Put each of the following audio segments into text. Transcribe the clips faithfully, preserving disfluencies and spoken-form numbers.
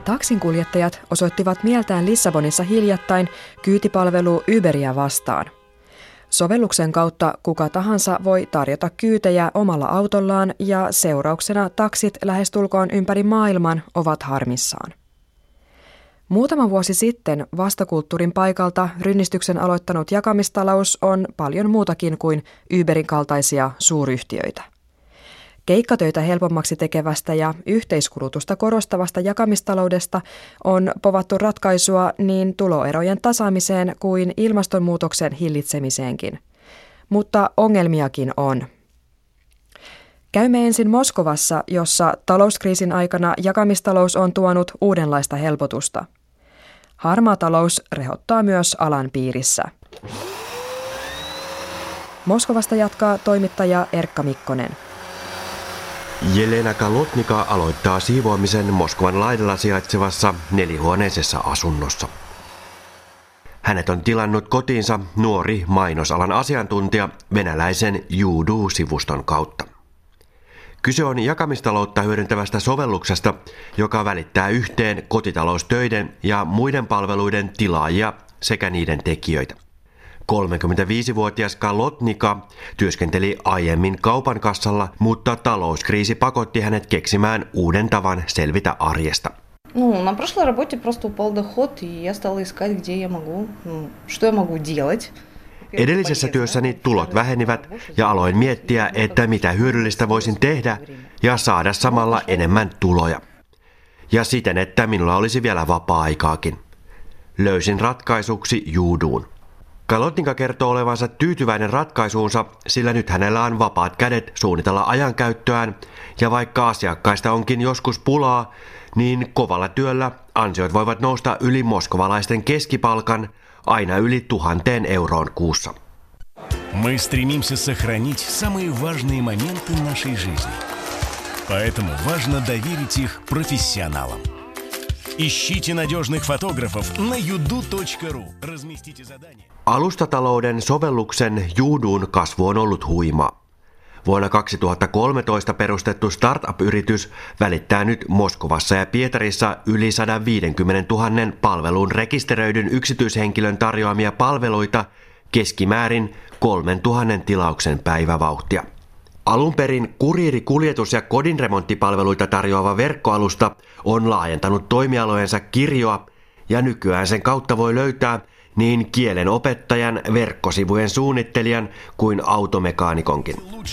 Taksinkuljettajat osoittivat mieltään Lissabonissa hiljattain kyytipalvelu Uberia vastaan. Sovelluksen kautta kuka tahansa voi tarjota kyytejä omalla autollaan ja seurauksena taksit lähestulkoon ympäri maailman ovat harmissaan. Muutama vuosi sitten vastakulttuurin paikalta rynnistyksen aloittanut jakamistalous on paljon muutakin kuin Uberin kaltaisia suuryhtiöitä. Keikkatöitä helpommaksi tekevästä ja yhteiskulutusta korostavasta jakamistaloudesta on povattu ratkaisua niin tuloerojen tasaamiseen kuin ilmastonmuutoksen hillitsemiseenkin. Mutta ongelmiakin on. Käymme ensin Moskovassa, jossa talouskriisin aikana jakamistalous on tuonut uudenlaista helpotusta. Harmaa talous rehottaa myös alan piirissä. Moskovasta jatkaa toimittaja Erkka Mikkonen. Jelena Kalotnika aloittaa siivoamisen Moskovan laidalla sijaitsevassa nelihuoneisessa asunnossa. Hänet on tilannut kotiinsa nuori mainosalan asiantuntija venäläisen Yudu-sivuston kautta. Kyse on jakamistaloutta hyödyntävästä sovelluksesta, joka välittää yhteen kotitaloustöiden ja muiden palveluiden tilaajia sekä niiden tekijöitä. kolmekymmentäviisivuotias Kalotnika työskenteli aiemmin kaupan kassalla, mutta talouskriisi pakotti hänet keksimään uuden tavan selvitä arjesta. Ну, на прошлой работе просто упал доход, и я стала искать, где я могу, ну, что я могу делать. Edellisessä työssäni tulot vähenivät ja aloin miettiä, että mitä hyödyllistä voisin tehdä ja saada samalla enemmän tuloja. Ja siten, että minulla olisi vielä vapaa-aikaakin. Löysin ratkaisuksi Yuduun. Kalotnika kertoo olevansa tyytyväinen ratkaisuunsa, sillä nyt hänellä on vapaat kädet suunnitella ajankäyttöään, ja vaikka asiakkaista onkin joskus pulaa, niin kovalla työllä ansiot voivat nousta yli moskovalaisten keskipalkan aina yli tuhanteen euroon kuussa. Мы стремимся сохранить самые важные моменты нашей жизни. Поэтому важно доверить их профессионалам. Ищите надежных фотографов на юду точка ру. Разместите задание. Alustatalouden sovelluksen Yudun kasvu on ollut huimaa. Vuonna kaksituhattakolmetoista perustettu startup-yritys välittää nyt Moskovassa ja Pietarissa yli sata viisikymmentätuhatta palveluun rekisteröidyn yksityishenkilön tarjoamia palveluita keskimäärin kolmetuhatta tilauksen päivävauhtia. Alun perin kuriiri-, kuljetus- ja kodinremonttipalveluita tarjoava verkkoalusta on laajentanut toimialojensa kirjoa ja nykyään sen kautta voi löytää niin kielen opettajan, verkkosivujen suunnittelijan kuin automekaanikonkin.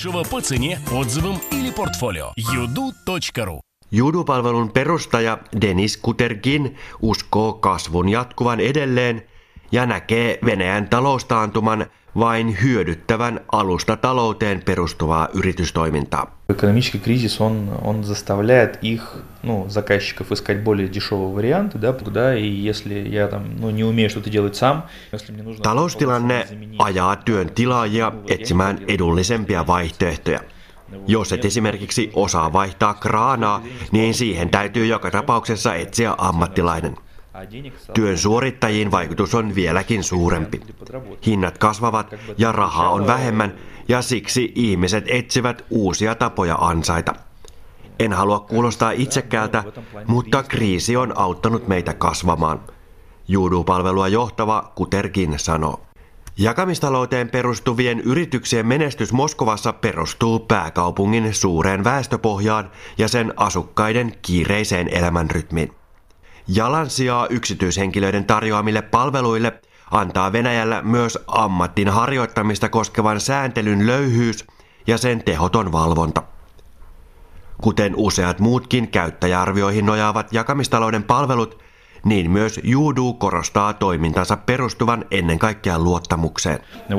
Yudu-palvelun perustaja Denis Kutergin uskoo kasvun jatkuvan edelleen ja näkee Venäjän taloustaantuman vain hyödyttävän alustatalouteen perustuvaa yritystoimintaa. Экономический кризис, он, он заставляет их, ну, заказчиков искать более дешевые варианты, да, да, и если я там, ну, не умею что-то делать сам, если мне нужно... Taloustilanne ajaa työn tilaajia etsimään edullisempia vaihtoehtoja. Jos et esimerkiksi osaa vaihtaa kraanaa, niin siihen täytyy joka tapauksessa etsiä ammattilainen. Työn suorittajiin vaikutus on vieläkin suurempi. Hinnat kasvavat ja rahaa on vähemmän ja siksi ihmiset etsivät uusia tapoja ansaita. En halua kuulostaa itsekkäältä, mutta kriisi on auttanut meitä kasvamaan. Yudu-palvelua johtava Kutergin sanoo. Jakamistalouteen perustuvien yrityksien menestys Moskovassa perustuu pääkaupungin suureen väestöpohjaan ja sen asukkaiden kiireiseen elämänrytmiin. Jalansijaa yksityishenkilöiden tarjoamille palveluille antaa Venäjällä myös ammattin harjoittamista koskevan sääntelyn löyhyys ja sen tehoton valvonta. Kuten useat muutkin käyttäjäarvioihin nojaavat jakamistalouden palvelut, niin myös Yudu korostaa toimintansa perustuvan ennen kaikkea luottamukseen.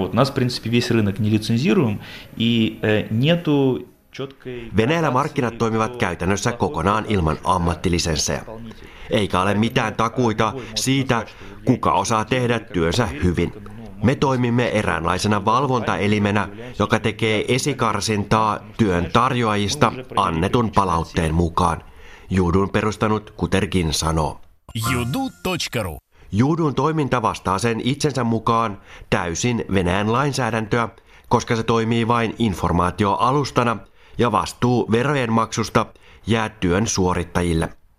Venäjällä markkinat toimivat käytännössä kokonaan ilman ammattilisenssejä. Eikä ole mitään takuita siitä, kuka osaa tehdä työnsä hyvin. Me toimimme eräänlaisena valvontaelimenä, joka tekee esikarsintaa työn tarjoajista annetun palautteen mukaan. Yudun perustanut Kutergin sanoo. юду точка ру. Yudun toiminta vastaa sen itsensä mukaan täysin Venäjän lainsäädäntöä, koska se toimii vain informaatioalustana ja vastuu verojen maksusta jää työn suorittajille.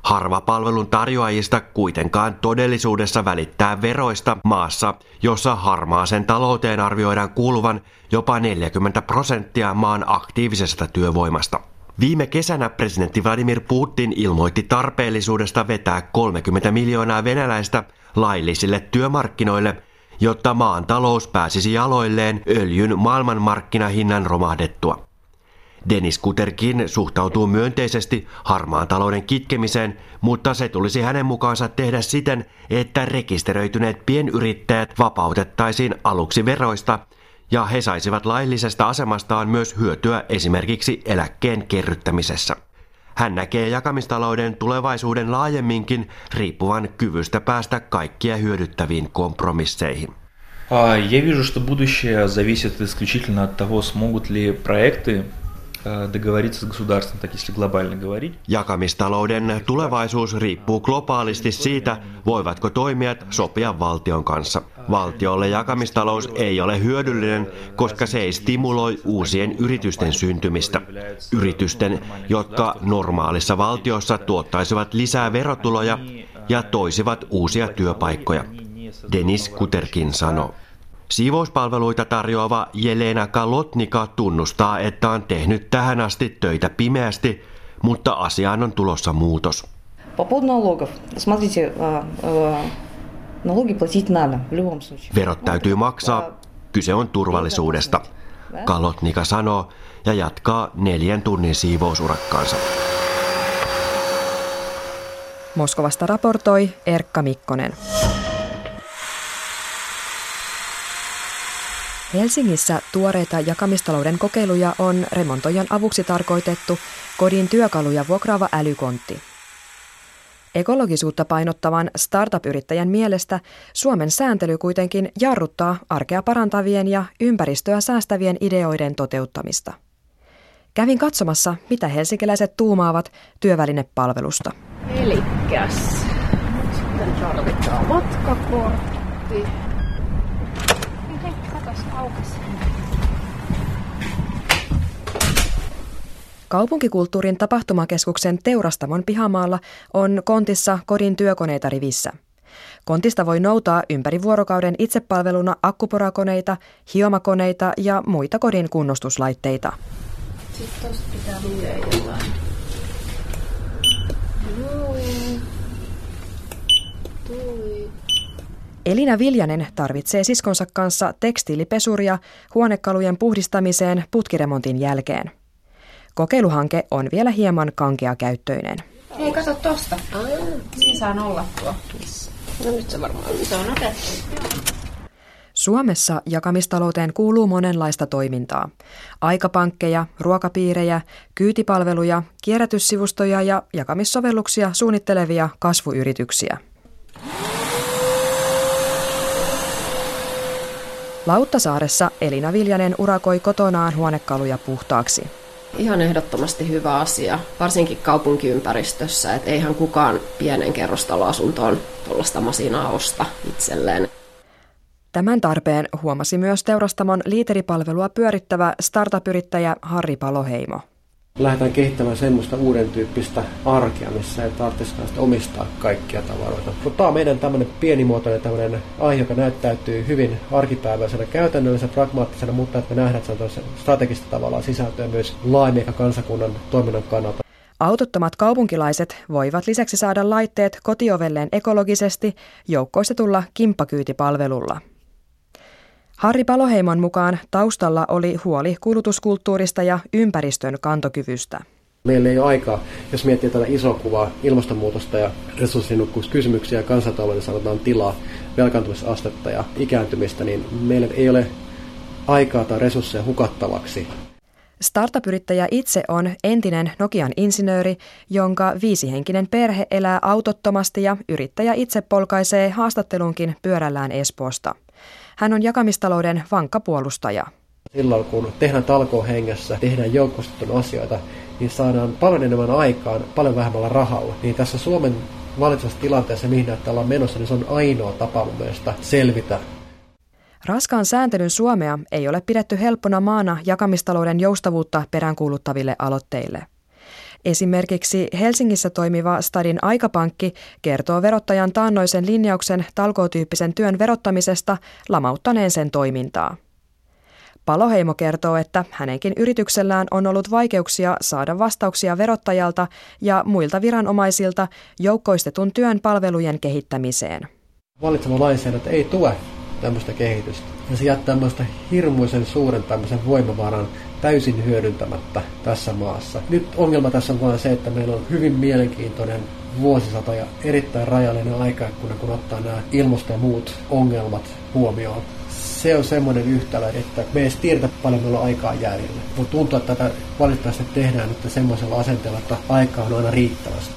Harva palvelun tarjoajista kuitenkaan todellisuudessa välittää veroista maassa, jossa harmaaseen talouteen arvioidaan kuuluvan jopa neljäkymmentä prosenttia maan aktiivisesta työvoimasta. Viime kesänä presidentti Vladimir Putin ilmoitti tarpeellisuudesta vetää kolmekymmentä miljoonaa venäläistä laillisille työmarkkinoille, jotta maan talous pääsisi jaloilleen öljyn maailmanmarkkinahinnan romahdettua. Denis Kuterkin suhtautuu myönteisesti harmaan talouden kitkemiseen, mutta se tulisi hänen mukaansa tehdä siten, että rekisteröityneet pienyrittäjät vapautettaisiin aluksi veroista ja he saisivat laillisesta asemastaan myös hyötyä esimerkiksi eläkkeen kerryttämisessä. Hän näkee jakamistalouden tulevaisuuden laajemminkin riippuvan kyvystä päästä kaikkia hyödyttäviin kompromisseihin. Я вижу, что будущее зависит исключительно от того, смогут ли проекты договориться с государством, так если глобально говорить. Jakamistalouden tulevaisuus riippuu globaalisti siitä, voivatko toimijat sopia valtion kanssa. Valtiolle jakamistalous ei ole hyödyllinen, koska se ei stimuloi uusien yritysten syntymistä. Yritysten, jotka normaalissa valtiossa tuottaisivat lisää verotuloja ja toisivat uusia työpaikkoja. Denis Kuterkin sanoo. Siivouspalveluita tarjoava Jelena Kalotnika tunnustaa, että on tehnyt tähän asti töitä pimeästi, mutta asiaan on tulossa muutos. Verot täytyy maksaa, kyse on turvallisuudesta, Kalotnika sanoo ja jatkaa neljän tunnin siivousurakkaansa. Moskovasta raportoi Erkka Mikkonen. Helsingissä tuoreita jakamistalouden kokeiluja on remontoijan avuksi tarkoitettu kodin työkaluja vuokraava älykontti. Ekologisuutta painottavan startup-yrittäjän mielestä Suomen sääntely kuitenkin jarruttaa arkea parantavien ja ympäristöä säästävien ideoiden toteuttamista. Kävin katsomassa, mitä helsinkiläiset tuumaavat työvälinepalvelusta. Elikkäs, nyt sitten tarvitaan matkakortti. Kaupunkikulttuurin tapahtumakeskuksen Teurastamon pihamaalla on kontissa kodin työkoneita rivissä. Kontista voi noutaa ympäri vuorokauden itsepalveluna akkuporakoneita, hiomakoneita ja muita kodin kunnostuslaitteita. Sitten tosta pitää lukea jotain. Noin. Tuli. Elina Viljanen tarvitsee siskonsa kanssa tekstiilipesuria huonekalujen puhdistamiseen putkiremontin jälkeen. Kokeiluhanke on vielä hieman kankeakäyttöinen. Hei, kato tosta. Siinä saa nollattua. No nyt se varmaan se on otettu. Suomessa jakamistalouteen kuuluu monenlaista toimintaa. Aikapankkeja, ruokapiirejä, kyytipalveluja, kierrätyssivustoja ja jakamissovelluksia suunnittelevia kasvuyrityksiä. Lauttasaaressa Elina Viljanen urakoi kotonaan huonekaluja puhtaaksi. Ihan ehdottomasti hyvä asia, varsinkin kaupunkiympäristössä, että eihän kukaan pienen kerrostaloasuntoon tuollaista masinaa osta itselleen. Tämän tarpeen huomasi myös Teurastamon liiteripalvelua pyörittävä startup-yrittäjä Harri Paloheimo. Lähdetään kehittämään semmoista uuden tyyppistä arkea, missä ei tarvitsekaan omistaa kaikkia tavaroita. Mutta tämä on meidän tämmöinen pienimuotoinen tämmöinen aihe, joka näyttäytyy hyvin arkipäiväisenä, käytännöllisenä, pragmaattisena, mutta että me nähdään, että se on strategista tavallaan sisältöä myös laajemmin kansakunnan toiminnan kannalta. Autottomat kaupunkilaiset voivat lisäksi saada laitteet kotiovelleen ekologisesti joukkoistetulla kimppakyytipalvelulla. Harri Paloheimon mukaan taustalla oli huoli kulutuskulttuurista ja ympäristön kantokyvystä. Meillä ei ole aikaa, jos miettii tätä isoa kuvaa, ilmastonmuutosta ja resurssinnukkuuskysymyksiä ja kansantalouden sanotaan tilaa, velkaantumisastetta ja ikääntymistä, niin meillä ei ole aikaa tai resursseja hukattavaksi. Startup-yrittäjä itse on entinen Nokian insinööri, jonka viisihenkinen perhe elää autottomasti ja yrittäjä itse polkaisee haastattelunkin pyörällään Espoosta. Hän on jakamistalouden vankka puolustaja. Silloin kun tehdään talkoon hengessä, tehdään joukkoistettuja asioita, niin saadaan paljon enemmän aikaan, paljon vähemmällä rahalla. Niin tässä Suomen valitsevassa tilanteessa, mihin näyttää ollaan menossa, niin se on ainoa tapa mun mielestä selvitä. Raskaan sääntelyn Suomea ei ole pidetty helppona maana jakamistalouden joustavuutta peräänkuuluttaville aloitteille. Esimerkiksi Helsingissä toimiva Stadin Aikapankki kertoo verottajan taannoisen linjauksen talkootyyppisen työn verottamisesta lamauttaneen sen toimintaa. Paloheimo kertoo, että hänenkin yrityksellään on ollut vaikeuksia saada vastauksia verottajalta ja muilta viranomaisilta joukkoistetun työn palvelujen kehittämiseen. Valitsema lainsäädäntö ei tue tämmöistä kehitystä. Ja se jättää tämmöistä hirmuisen suuren tämmöisen voimavaran täysin hyödyntämättä tässä maassa. Nyt ongelma tässä on vain se, että meillä on hyvin mielenkiintoinen vuosisata ja erittäin rajallinen aikaikkuna, kun ottaa nämä ilmasto- ja muut ongelmat huomioon. Se on semmoinen yhtälö, että me ei edes tiedetä paljon meillä on aikaa jäljellä. Mutta tuntuu, että tätä valitettavasti tehdään nyt semmoisella asenteella, että aikaa on aina riittävästi.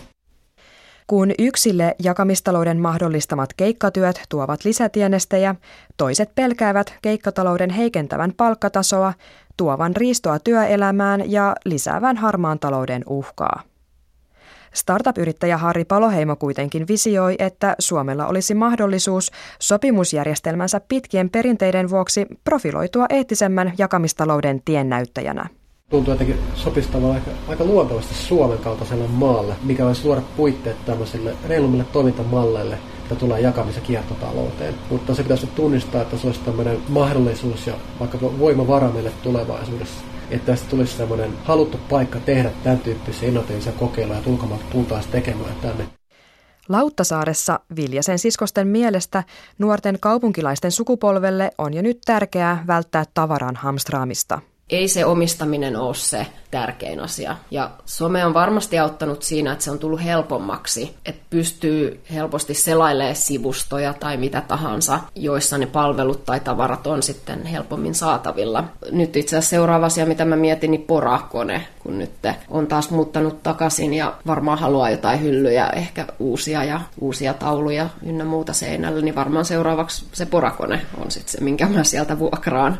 Kun yksille jakamistalouden mahdollistamat keikkatyöt tuovat lisätienestejä, toiset pelkäävät keikkatalouden heikentävän palkkatasoa, tuovan riistoa työelämään ja lisäävän harmaan talouden uhkaa. Startup-yrittäjä Harri Paloheimo kuitenkin visioi, että Suomella olisi mahdollisuus sopimusjärjestelmänsä pitkien perinteiden vuoksi profiloitua eettisemmän jakamistalouden tiennäyttäjänä. Tuntuu jotenkin sopisi tavallaan aika, aika luontevasti Suomen kaltaiselle maalle, mikä voisi luoda puitteet tämmöisille reilummille toimintamalleille, mitä tulee jakamis- ja kiertotalouteen. Mutta se pitäisi tunnistaa, että se olisi tämmöinen mahdollisuus ja vaikka voimavara meille tulevaisuudessa. Että tästä tulisi semmoinen haluttu paikka tehdä tämän tyyppisiä innovatiivisia kokeiluja, että ulkomailta tultaisiin tekemään tänne. Lauttasaaressa Viljasen siskosten mielestä nuorten kaupunkilaisten sukupolvelle on jo nyt tärkeää välttää tavaran hamstraamista. Ei se omistaminen ole se tärkein asia. Ja some on varmasti auttanut siinä, että se on tullut helpommaksi, että pystyy helposti selailemaan sivustoja tai mitä tahansa, joissa ne palvelut tai tavarat on sitten helpommin saatavilla. Nyt itse asiassa seuraava asia, mitä mä mietin, niin porakone, kun nyt on taas muuttanut takaisin ja varmaan haluaa jotain hyllyjä, ehkä uusia ja uusia tauluja ynnä muuta seinällä, niin varmaan seuraavaksi se porakone on sitten se, minkä mä sieltä vuokraan.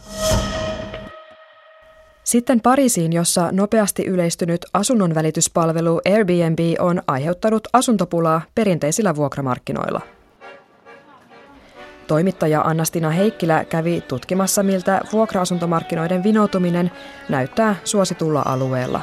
Sitten Pariisiin, jossa nopeasti yleistynyt asunnonvälityspalvelu Airbnb on aiheuttanut asuntopulaa perinteisillä vuokramarkkinoilla. Toimittaja Anna-Stina Heikkilä kävi tutkimassa, miltä vuokra-asuntomarkkinoiden vinoutuminen näyttää suositulla alueella.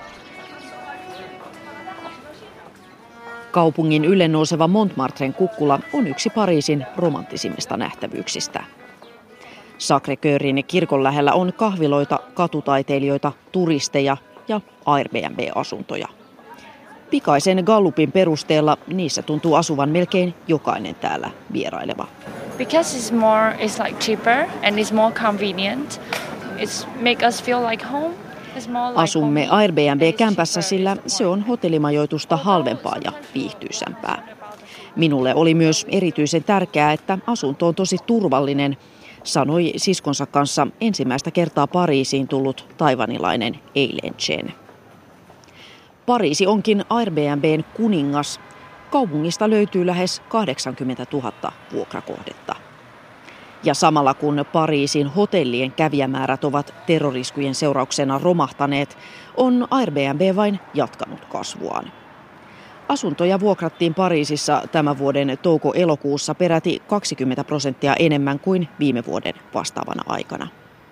Kaupungin ylenouseva Montmartren kukkula on yksi Pariisin romanttisimmista nähtävyyksistä. Sacré-Cœurin kirkon lähellä on kahviloita, katutaiteilijoita, turisteja ja Airbnb-asuntoja. Pikaisen Gallupin perusteella niissä tuntuu asuvan melkein jokainen täällä vieraileva. Because it's more, it's like cheaper and it's more convenient. It's make us feel like home. Asumme Airbnb-kämpässä, sillä se on hotellimajoitusta halvempaa ja viihtyisämpää. Minulle oli myös erityisen tärkeää, että asunto on tosi turvallinen, sanoi siskonsa kanssa ensimmäistä kertaa Pariisiin tullut taivanilainen Eileen Chen. Pariisi onkin Airbnb:n kuningas. Kaupungista löytyy lähes kahdeksankymmentätuhatta vuokrakohdetta. Ja samalla kun Pariisin hotellien kävijämäärät ovat terroriskujen seurauksena romahtaneet, on Airbnb vain jatkanut kasvuaan. Asuntoja vuokrattiin Pariisissa tämän vuoden touko-elokuussa peräti kaksikymmentä prosenttia enemmän kuin viime vuoden vastaavana aikana.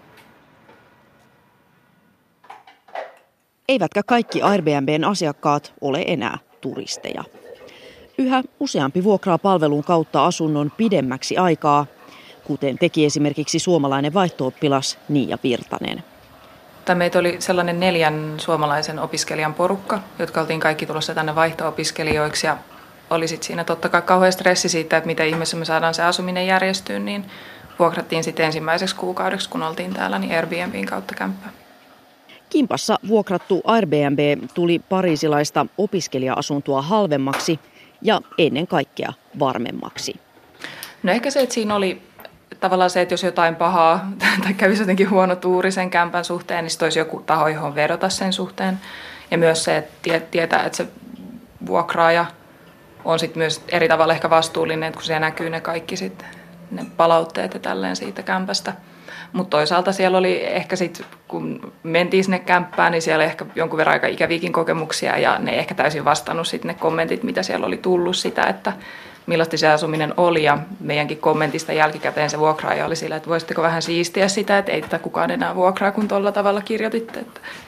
Eivätkä kaikki Airbnb:n asiakkaat ole enää turisteja. Yhä useampi vuokraa palvelun kautta asunnon pidemmäksi aikaa, kuten teki esimerkiksi suomalainen vaihto-oppilas Niia Virtanen. Meitä oli sellainen neljän suomalaisen opiskelijan porukka, jotka oltiin kaikki tulossa tänne vaihto-opiskelijoiksi. Ja oli sitten siinä totta kai kauhean stressi siitä, että miten ihmeessä me saadaan se asuminen järjestyyn, niin vuokrattiin sitten ensimmäiseksi kuukaudeksi, kun oltiin täällä, niin Airbnbin kautta kämppää. Kimpassa vuokrattu Airbnb tuli pariisilaista opiskelija-asuntoa halvemmaksi ja ennen kaikkea varmemmaksi. No ehkä se, että siinä oli tavallaan se, että jos jotain pahaa tai kävisi jotenkin huono tuuri sen kämpän suhteen, niin sitten olisi joku taho, johon vedota sen suhteen. Ja myös se, että tietää, että se vuokraaja on sitten myös eri tavalla ehkä vastuullinen, että kun siellä näkyy ne kaikki sitten, ne palautteet ja tälleen siitä kämpästä. Mutta toisaalta siellä oli ehkä sitten, kun mentiin sinne kämppään, niin siellä oli ehkä jonkun verran aika ikäviäkin kokemuksia ja ne ei ehkä täysin vastannut sitten ne kommentit, mitä siellä oli tullut sitä, että millaista se asuminen oli, ja meidänkin kommentista jälkikäteen se vuokraaja oli sillä, että voisitteko vähän siistiä sitä, että ei tätä kukaan enää vuokraa, kun tuolla tavalla kirjoititte.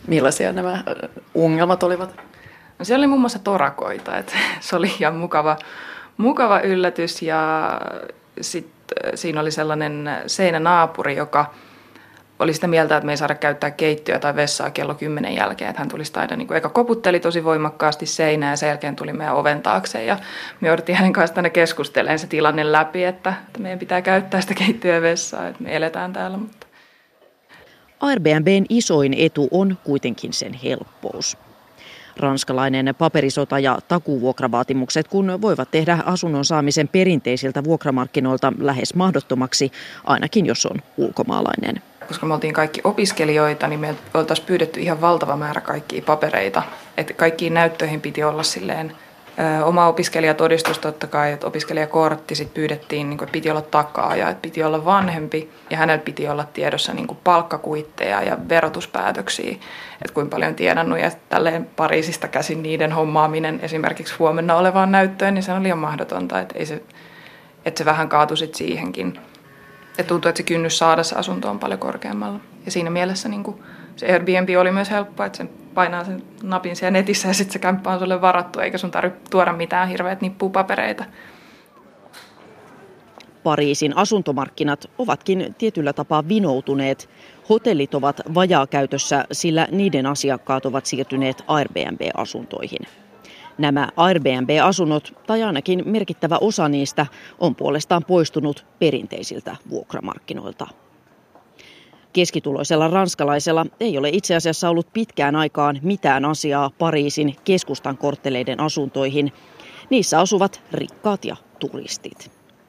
Millaisia nämä ongelmat olivat? No siellä oli muun muassa torakoita, että se oli ihan mukava, mukava yllätys ja sitten siinä oli sellainen seinänaapuri, joka oli sitä mieltä, että me ei saada käyttää keittiöä tai vessaa kello kymmenen jälkeen. Että hän tuli sitä aina, niin kuin, eka koputteli tosi voimakkaasti seinään ja sen jälkeen tuli meidän oven taakse. Ja me jouduttiin hänen kanssa tänne keskustelemaan se tilanne läpi, että, että meidän pitää käyttää sitä keittiöä ja vessaa, että me eletään täällä. Mutta Airbnb:n isoin etu on kuitenkin sen helppous. Ranskalainen paperisota ja takuuvuokravaatimukset, kun voivat tehdä asunnon saamisen perinteisiltä vuokramarkkinoilta lähes mahdottomaksi, ainakin jos on ulkomaalainen. Koska me oltiin kaikki opiskelijoita, niin me oltaisiin pyydetty ihan valtava määrä kaikkia papereita. Että kaikkiin näyttöihin piti olla silleen ö, oma opiskelijatodistus totta kai, että opiskelijakortti sit pyydettiin, niin kuin, että piti olla takaaja, että piti olla vanhempi ja hänellä piti olla tiedossa niin kuin palkkakuitteja ja verotuspäätöksiä, että kuinka paljon tienannut ja tälleen Pariisista käsin niiden hommaaminen esimerkiksi huomenna olevaan näyttöön, niin se on liian mahdotonta, että, ei se, että se vähän kaatui sit siihenkin. Ja tuntuu, että se kynnys saada se asunto on paljon korkeammalla. Ja siinä mielessä niin kuin se Airbnb oli myös helppo, että sen painaa sen napin siellä netissä ja sitten se kämppä on sulle varattu, eikä sun tarvitse tuoda mitään hirveät nippupapereita. Pariisin asuntomarkkinat ovatkin tietyllä tapaa vinoutuneet. Hotellit ovat vajaakäytössä, sillä niiden asiakkaat ovat siirtyneet Airbnb-asuntoihin. Nämä Airbnb-asunnot, tai ainakin merkittävä osa niistä, on puolestaan poistunut perinteisiltä vuokramarkkinoilta. Keskituloisella ranskalaisella ei ole itse asiassa ollut pitkään aikaan mitään asiaa Pariisin keskustan kortteleiden asuntoihin. Niissä asuvat rikkaat ja turistit.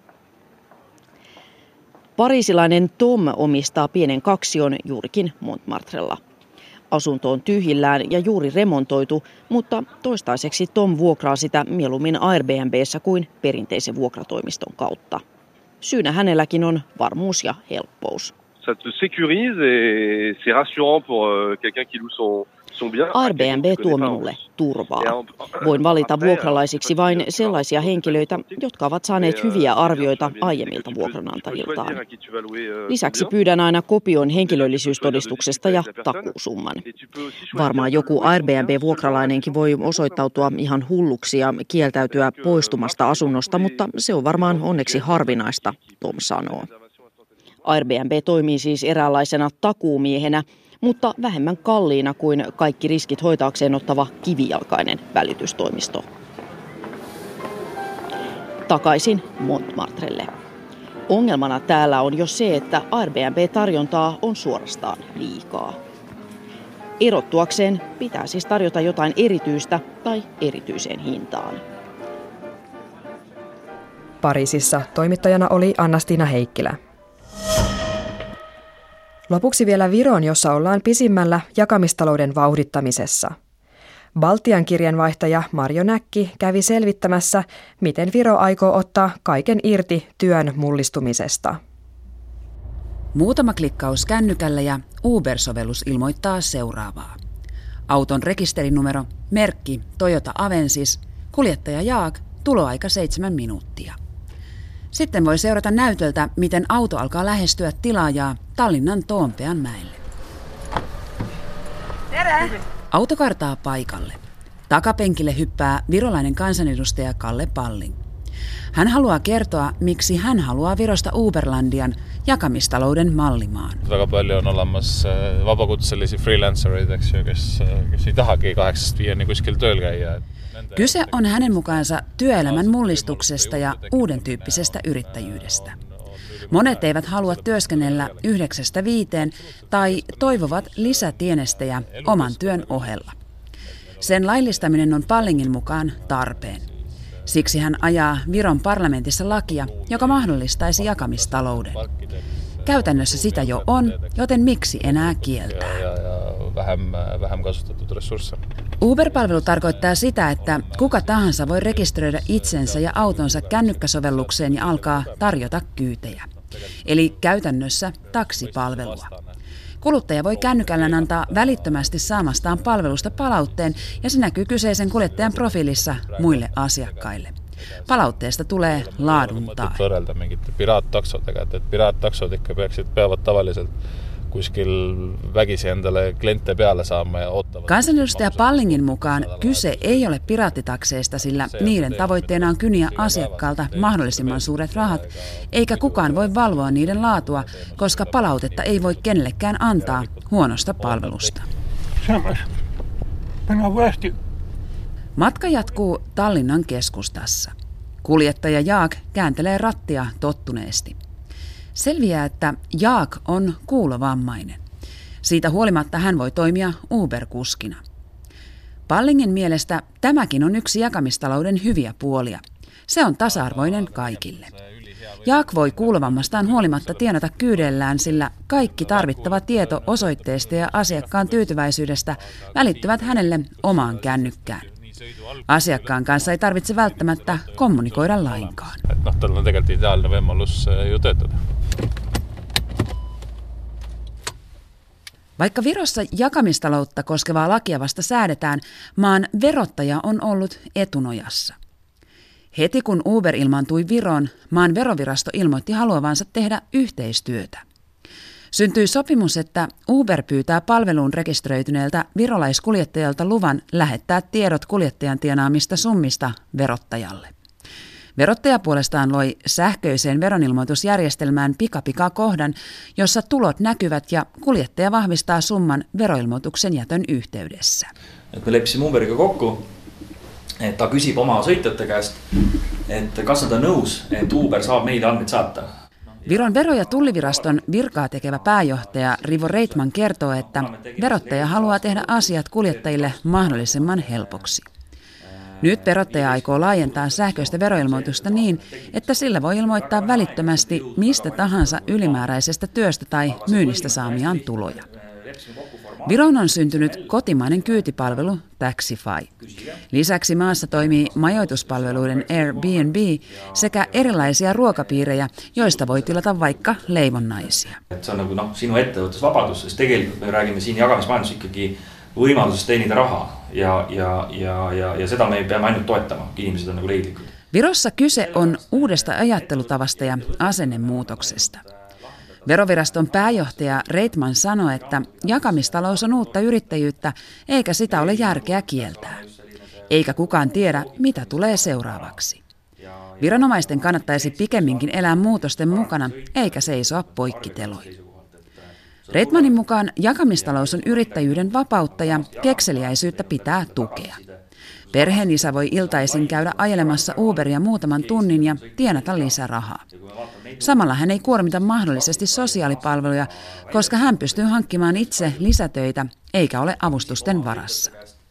Pariisilainen Tom omistaa pienen kaksion juurikin Montmartrella. Asunto on tyhjillään ja juuri remontoitu, mutta toistaiseksi Tom vuokraa sitä mieluummin Airbnb:ssä kuin perinteisen vuokratoimiston kautta. Syynä hänelläkin on varmuus ja helppous. Ça te sécurise et c'est rassurant pour quelqu'un qui loue son son bien. Airbnb tuo minulle turvaa. Voin valita vuokralaisiksi vain sellaisia henkilöitä, jotka ovat saaneet hyviä arvioita aiemmilta vuokranantajiltaan. Lisäksi pyydän aina kopion henkilöllisyystodistuksesta ja takuusumman. Varmaan joku Airbnb-vuokralainenkin voi osoittautua ihan hulluksi ja kieltäytyä poistumasta asunnosta, mutta se on varmaan onneksi harvinaista, Tom sanoo. Airbnb toimii siis eräänlaisena takuumiehenä, mutta vähemmän kalliina kuin kaikki riskit hoitaakseen ottava kivijalkainen välitystoimisto. Takaisin Montmartrelle. Ongelmana täällä on jo se, että Airbnb-tarjontaa on suorastaan liikaa. Erottuakseen pitää siis tarjota jotain erityistä tai erityiseen hintaan. Pariisissa toimittajana oli Anna-Stiina Heikkilä. Lopuksi vielä Viroon, jossa ollaan pisimmällä jakamistalouden vauhdittamisessa. Baltian kirjanvaihtaja Marjo Näkki kävi selvittämässä, miten Viro aikoo ottaa kaiken irti työn mullistumisesta. Muutama klikkaus kännykällä ja Uber-sovellus ilmoittaa seuraavaa. Auton rekisterinumero, merkki Toyota Avensis, kuljettaja Jaak, tuloaika seitsemän minuuttia. Sitten voi seurata näytöltä, miten auto alkaa lähestyä tilaajaa Tallinnan Toompeanmäelle. Tere! Auto kartaa paikalle. Takapenkille hyppää virolainen kansanedustaja Kalle Palling. Hän haluaa kertoa, miksi hän haluaa Virosta Uberlandian jakamistalouden mallimaan. Väga palju on olemas vabakutsellisi freelancereid, eks ju, kes, kes ei tahagi kahdeksast viieni kuskil tööl käia. Kyse on hänen mukaansa työelämän mullistuksesta ja uuden tyyppisestä yrittäjyydestä. Monet eivät halua työskennellä yhdeksästä viiteen tai toivovat lisätienestejä oman työn ohella. Sen laillistaminen on Pallingin mukaan tarpeen. Siksi hän ajaa Viron parlamentissa lakia, joka mahdollistaisi jakamistalouden. Käytännössä sitä jo on, joten miksi enää kieltää? Uber-palvelu tarkoittaa sitä, että kuka tahansa voi rekisteröidä itsensä ja autonsa kännykkäsovellukseen ja alkaa tarjota kyytejä. Eli käytännössä taksipalvelua. Kuluttaja voi kännykällään antaa välittömästi saamastaan palvelusta palautteen ja se näkyy kyseisen kuljettajan profiilissa muille asiakkaille. Palautteesta tulee laadun tae. Võrrelda mingite piraattaksodega, et, et piraattaksod ikka peaksid, peavad tavaliselt kuskil vägisi endale kliente peale saama ja ottavat. Kansanedustaja Pallingin mukaan kyse ei ole piraattitakseista, sillä niiden tavoitteena on kyniä asiakkaalta mahdollisimman suuret rahat, eikä kukaan voi valvoa niiden laatua, koska palautetta ei voi kenellekään antaa huonosta palvelusta. Matka jatkuu Tallinnan keskustassa. Kuljettaja Jaak kääntelee rattia tottuneesti. Selviää, että Jaak on kuulovammainen. Siitä huolimatta hän voi toimia Uber-kuskina. Pallingin mielestä tämäkin on yksi jakamistalouden hyviä puolia. Se on tasa-arvoinen kaikille. Jaak voi kuulovammastaan huolimatta tienata kyydellään, sillä kaikki tarvittava tieto osoitteesta ja asiakkaan tyytyväisyydestä välittyvät hänelle omaan kännykkään. Asiakkaan kanssa ei tarvitse välttämättä kommunikoida lainkaan. No, tällä on tegelikult ideaalinen võimalus ju töötada. Vaikka Virossa jakamistaloutta koskevaa lakia vasta säädetään, maan verottaja on ollut etunojassa. Heti kun Uber ilmaantui Viroon, maan verovirasto ilmoitti haluavansa tehdä yhteistyötä. Syntyi sopimus, että Uber pyytää palveluun rekisteröityneeltä virolaiskuljettajalta luvan lähettää tiedot kuljettajan tienaamista summista verottajalle. Verottaja puolestaan loi sähköiseen veronilmoitusjärjestelmään pika-pika-kohdan, jossa tulot näkyvät ja kuljettaja vahvistaa summan veroilmoituksen jätön yhteydessä. Et me leppisime Uberiga kokku, et ta küsib oma sõitjate käest, et kas nad on nõus, et Uber saab meile andmeid saata. Viron vero- ja tulliviraston virkaa tekevä pääjohtaja Rivo Reitman kertoo, että verottaja haluaa tehdä asiat kuljettajille mahdollisimman helpoksi. Nyt verottaja aikoo laajentaa sähköistä veroilmoitusta niin, että sillä voi ilmoittaa välittömästi mistä tahansa ylimääräisestä työstä tai myynnistä saamiaan tuloja. Viroon on syntynyt kotimainen kyytipalvelu Taxify. Lisäksi maassa toimii majoituspalveluiden Airbnb sekä erilaisia ruokapiirejä, joista voi tilata vaikka leivonnaisia. Se on nagu noh, sinu ettevõtlusvabadus, sest tegelikult me räägime siin jagamismajandus ikkagi võimalusest teenida rahaa ja, ja, ja, ja, ja seda me peame ainult toetama, ihmiset on nagu leidlikud. Virossa kyse on uudesta ajattelutavasta ja asennemuutoksesta. Veroviraston pääjohtaja Reitman sanoi, että jakamistalous on uutta yrittäjyyttä, eikä sitä ole järkeä kieltää. Eikä kukaan tiedä, mitä tulee seuraavaksi. Viranomaisten kannattaisi pikemminkin elää muutosten mukana, eikä seisoa poikkiteloin. Reitmanin mukaan jakamistalous on yrittäjyyden vapautta ja kekseliäisyyttä pitää tukea. Perheenisä voi iltaisin käydä ajelemassa Uberia muutaman tunnin ja tienata lisärahaa. Samalla hän ei kuormita mahdollisesti sosiaalipalveluja, koska hän pystyy hankkimaan itse lisätöitä eikä ole avustusten varassa.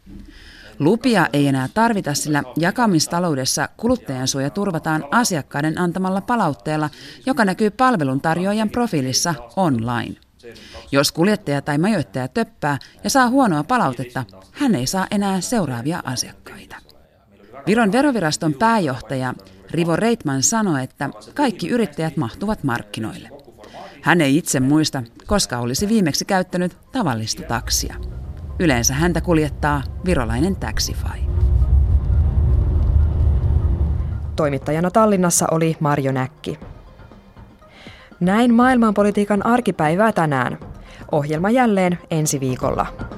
Lupia ei enää tarvita, sillä jakamistaloudessa kuluttajansuoja turvataan asiakkaiden antamalla palautteella, joka näkyy palveluntarjoajan profiilissa online. Jos kuljettaja tai majoittaja töppää ja saa huonoa palautetta, hän ei saa enää seuraavia asiakkaita. Viron veroviraston pääjohtaja Rivo Reitman sanoi, että kaikki yrittäjät mahtuvat markkinoille. Hän ei itse muista, koska olisi viimeksi käyttänyt tavallista taksia. Yleensä häntä kuljettaa virolainen Taxify. Toimittajana Tallinnassa oli Marjo Näkki. Näin maailmanpolitiikan arkipäivää tänään. Ohjelma jälleen ensi viikolla.